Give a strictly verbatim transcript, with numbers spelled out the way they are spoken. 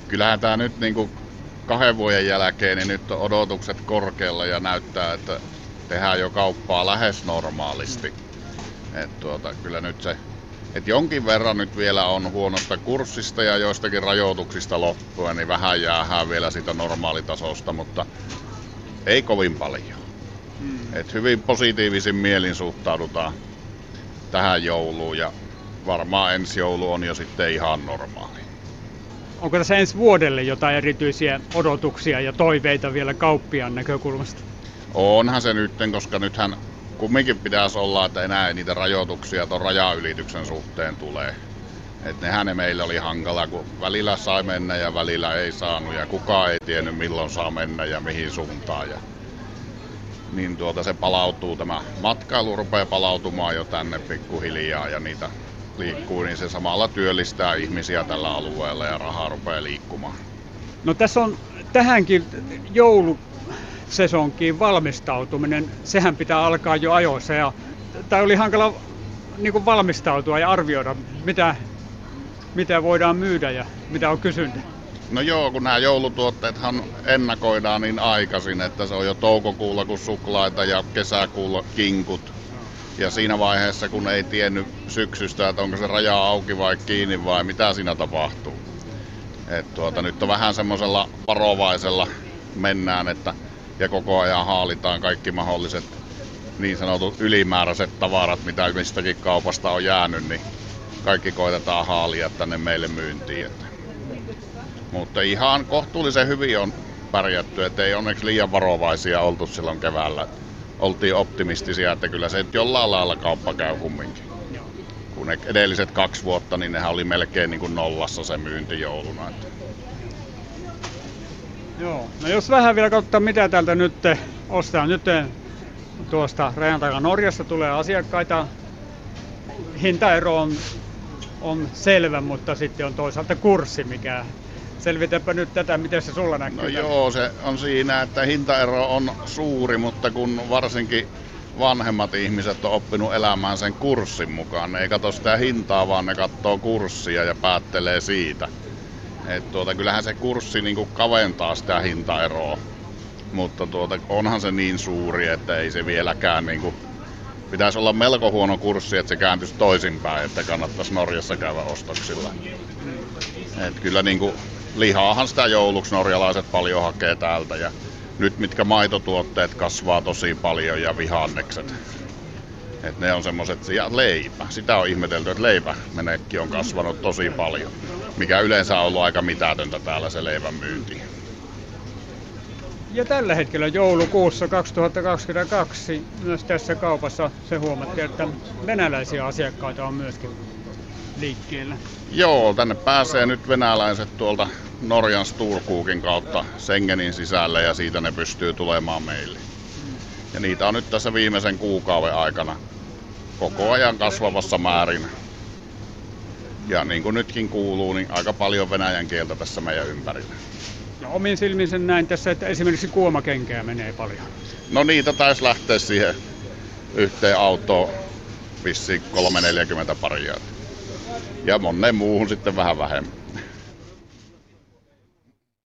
kyllähän tämä nyt niin kuin kahden vuoden jälkeen, niin nyt on odotukset korkealla ja näyttää, että tehdään jo kauppaa lähes normaalisti. Et tuota, kyllä nyt se, et jonkin verran nyt vielä on huonosta kurssista ja joistakin rajoituksista loppuen, niin vähän jäähän vielä siitä normaalitasosta, mutta ei kovin paljon. Hmm. Et hyvin positiivisin mielin suhtaudutaan tähän jouluun ja varmaan ensi joulu on jo sitten ihan normaali. Onko tässä ensi vuodelle jotain erityisiä odotuksia ja toiveita vielä kauppiaan näkökulmasta? Onhan se nytten, koska nythän kumminkin pitäisi olla, että enää ei niitä rajoituksia tuon rajaylityksen suhteen tulee. Et nehän ne meillä oli hankala, kun välillä sai mennä ja välillä ei saanut ja kukaan ei tiennyt milloin saa mennä ja mihin suuntaan. Ja niin tuota se palautuu, tämä matkailu rupeaa palautumaan jo tänne pikkuhiljaa ja niitä liikkuu, niin se samalla työllistää ihmisiä tällä alueella ja rahaa rupeaa liikkumaan. No tässä on tähänkin joulusesonkiin valmistautuminen, sehän pitää alkaa jo ajoissa ja tai oli hankala niin kuin valmistautua ja arvioida, mitä, mitä voidaan myydä ja mitä on kysyntä. No joo, kun nämä joulutuotteethan ennakoidaan niin aikaisin, että se on jo toukokuulla kun suklaita ja kesäkuulla kinkut. Ja siinä vaiheessa, kun ei tiennyt syksystä, että onko se raja auki vai kiinni vai mitä siinä tapahtuu. Et tuota, nyt on vähän semmoisella varovaisella mennään, että ja koko ajan haalitaan kaikki mahdolliset niin sanotut ylimääräiset tavarat, mitä mistäkin kaupasta on jäänyt, niin kaikki koitetaan haalia tänne meille myyntiin. Että. Mutta ihan kohtuullisen hyvin on pärjätty, ettei onneksi liian varovaisia oltu silloin keväällä. Oltiin optimistisia, että kyllä se jollain lailla kauppa käy kumminkin. Kun ne edelliset kaksi vuotta, niin nehän oli melkein niin kuin nollassa se myynti jouluna. Että. Joo, no jos vähän vielä katsotaan mitä täältä nyt ostetaan. Nyt tuosta rajan takaa Norjasta tulee asiakkaita. Hintaero on, on selvä, mutta sitten on toisaalta kurssi, mikä selvitäpä nyt tätä, miten se sulla näkyy. No joo, se on siinä, että hintaero on suuri, mutta kun varsinkin vanhemmat ihmiset on oppinut elämään sen kurssin mukaan, ne ei katso sitä hintaa, vaan ne katsoo kurssia ja päättelee siitä. Et tuota, kyllähän se kurssi niinku kaventaa sitä hintaeroa, mutta tuota, onhan se niin suuri, että ei se vieläkään niinku, pitäisi olla melko huono kurssi, että se kääntyisi toisinpäin, että kannattaisi Norjassa käydä ostoksilla. Et kyllä niinku, lihaahan sitä jouluksi norjalaiset paljon hakee täältä ja nyt mitkä maitotuotteet kasvaa tosi paljon ja vihannekset. Et ne on semmoset, ja leipä. Sitä on ihmetelty, että leipämenekki on kasvanut tosi paljon, mikä yleensä on ollut aika mitätöntä täällä se leivän myynti. Ja tällä hetkellä joulukuussa kaksituhattakaksikymmentäkaksi myös tässä kaupassa se huomattiin, että venäläisiä asiakkaita on myöskin liikkeellä. Joo, tänne pääsee nyt venäläiset tuolta Norjan Storkokin kautta Schengenin sisälle ja siitä ne pystyy tulemaan meille. Ja niitä on nyt tässä viimeisen kuukauden aikana koko ajan kasvavassa määrin. Ja niin kuin nytkin kuuluu, niin aika paljon venäjän kieltä tässä meidän ympärillä. Ja omin silmin sen näin tässä, että esimerkiksi kuomakenkää menee paljon. No niitä taisi lähteä siihen yhteen autoon vissiin kolme neljäkymmentä paria. Ja monen muuhun sitten vähän vähemmän.